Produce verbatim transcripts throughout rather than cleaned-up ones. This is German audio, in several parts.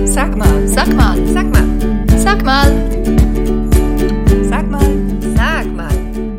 Sag mal, sag mal, sag mal, sag mal, sag mal, sag mal.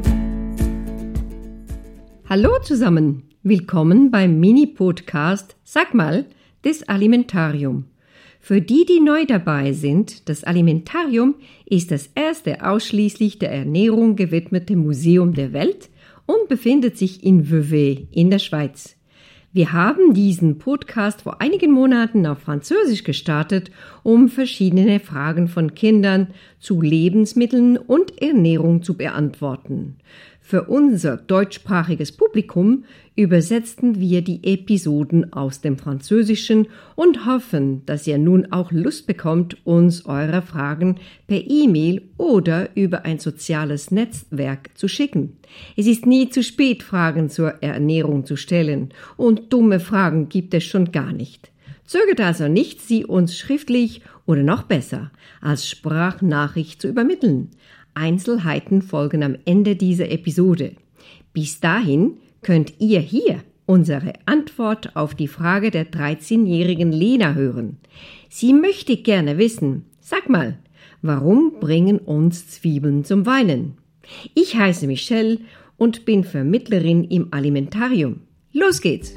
Hallo zusammen, willkommen beim Mini-Podcast Sag mal des Alimentarium. Für die, die neu dabei sind, das Alimentarium ist das erste ausschließlich der Ernährung gewidmete Museum der Welt und befindet sich in Vevey in der Schweiz. Wir haben diesen Podcast vor einigen Monaten auf Französisch gestartet, um verschiedene Fragen von Kindern zu Lebensmitteln und Ernährung zu beantworten. Für unser deutschsprachiges Publikum übersetzten wir die Episoden aus dem Französischen und hoffen, dass ihr nun auch Lust bekommt, uns eure Fragen per E-Mail oder über ein soziales Netzwerk zu schicken. Es ist nie zu spät, Fragen zur Ernährung zu stellen, und dumme Fragen gibt es schon gar nicht. Zögert also nicht, sie uns schriftlich oder noch besser als Sprachnachricht zu übermitteln. Einzelheiten folgen am Ende dieser Episode. Bis dahin könnt ihr hier unsere Antwort auf die Frage der dreizehnjährigen Lena hören. Sie möchte gerne wissen, sag mal, warum bringen uns Zwiebeln zum Weinen? Ich heiße Michelle und bin Vermittlerin im Alimentarium. Los geht's!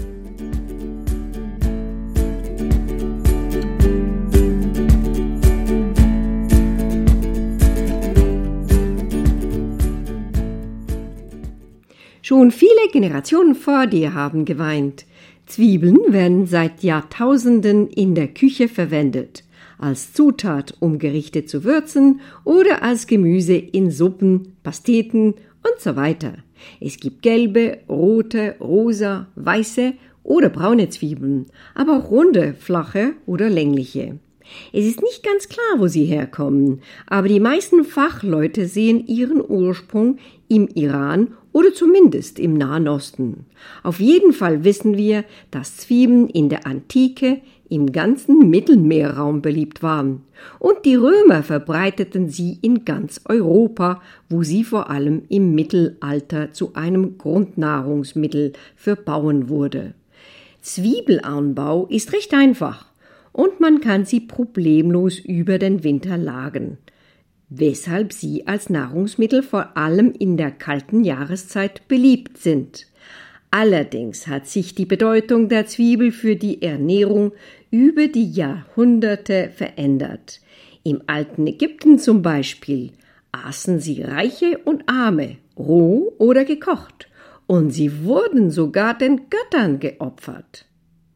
Schon viele Generationen vor dir haben geweint. Zwiebeln werden seit Jahrtausenden in der Küche verwendet, als Zutat, um Gerichte zu würzen oder als Gemüse in Suppen, Pasteten und so weiter. Es gibt gelbe, rote, rosa, weiße oder braune Zwiebeln, aber auch runde, flache oder längliche. Es ist nicht ganz klar, wo sie herkommen, aber die meisten Fachleute sehen ihren Ursprung im Iran oder zumindest im Nahen Osten. Auf jeden Fall wissen wir, dass Zwiebeln in der Antike im ganzen Mittelmeerraum beliebt waren. Und die Römer verbreiteten sie in ganz Europa, wo sie vor allem im Mittelalter zu einem Grundnahrungsmittel für Bauern wurde. Zwiebelanbau ist recht einfach und man kann sie problemlos über den Winter lagern, weshalb sie als Nahrungsmittel vor allem in der kalten Jahreszeit beliebt sind. Allerdings hat sich die Bedeutung der Zwiebel für die Ernährung über die Jahrhunderte verändert. Im alten Ägypten zum Beispiel aßen sie Reiche und Arme, roh oder gekocht, und sie wurden sogar den Göttern geopfert.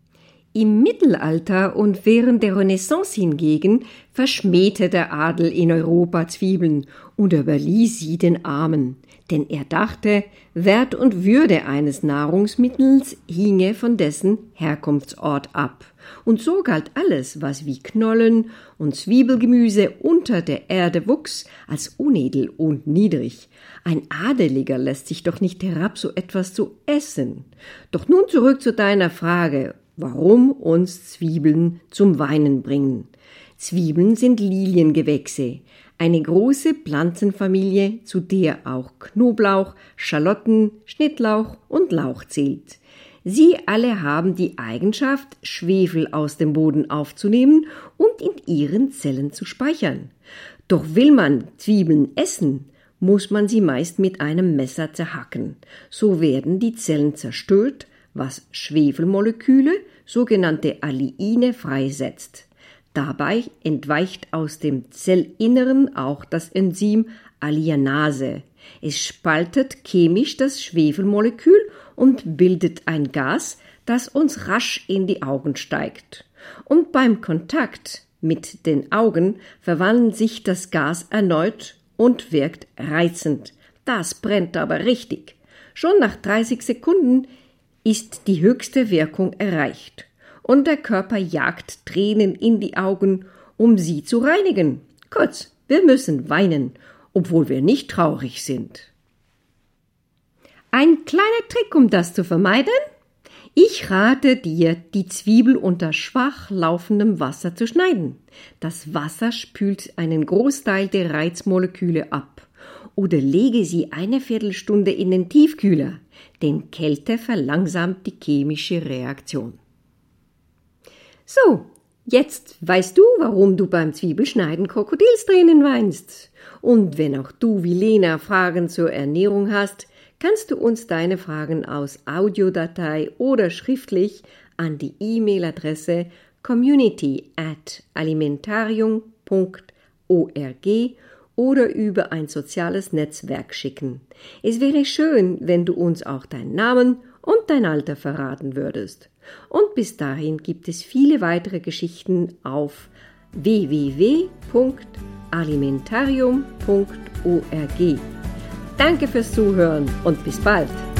Im Mittelalter und während der Renaissance hingegen verschmähte der Adel in Europa Zwiebeln und überließ sie den Armen, denn er dachte, Wert und Würde eines Nahrungsmittels hinge von dessen Herkunftsort ab. Und so galt alles, was wie Knollen und Zwiebelgemüse unter der Erde wuchs, als unedel und niedrig. Ein Adeliger lässt sich doch nicht herab, so etwas zu essen. Doch nun zurück zu deiner Frage, warum uns Zwiebeln zum Weinen bringen. Zwiebeln sind Liliengewächse, eine große Pflanzenfamilie, zu der auch Knoblauch, Schalotten, Schnittlauch und Lauch zählt. Sie alle haben die Eigenschaft, Schwefel aus dem Boden aufzunehmen und in ihren Zellen zu speichern. Doch will man Zwiebeln essen, muss man sie meist mit einem Messer zerhacken. So werden die Zellen zerstört, was Schwefelmoleküle, sogenannte Alliine, freisetzt. Dabei entweicht aus dem Zellinneren auch das Enzym Alliinase. Es spaltet chemisch das Schwefelmolekül und bildet ein Gas, das uns rasch in die Augen steigt. Und beim Kontakt mit den Augen verwandelt sich das Gas erneut und wirkt reizend. Das brennt aber richtig. Schon nach dreißig Sekunden ist die höchste Wirkung erreicht und der Körper jagt Tränen in die Augen, um sie zu reinigen. Kurz, wir müssen weinen, obwohl wir nicht traurig sind. Ein kleiner Trick, um das zu vermeiden? Ich rate dir, die Zwiebel unter schwach laufendem Wasser zu schneiden. Das Wasser spült einen Großteil der Reizmoleküle ab. Oder lege sie eine Viertelstunde in den Tiefkühler, denn Kälte verlangsamt die chemische Reaktion. So, Jetzt weißt du, warum du beim Zwiebelschneiden Krokodilstränen weinst. Und wenn auch du wie Lena Fragen zur Ernährung hast, kannst du uns deine Fragen aus Audiodatei oder schriftlich an die E-Mail-Adresse community at alimentarium punkt org oder über ein soziales Netzwerk schicken. Es wäre schön, wenn du uns auch deinen Namen und dein Alter verraten würdest. Und bis dahin gibt es viele weitere Geschichten auf w w w punkt alimentarium punkt org. Danke fürs Zuhören und bis bald!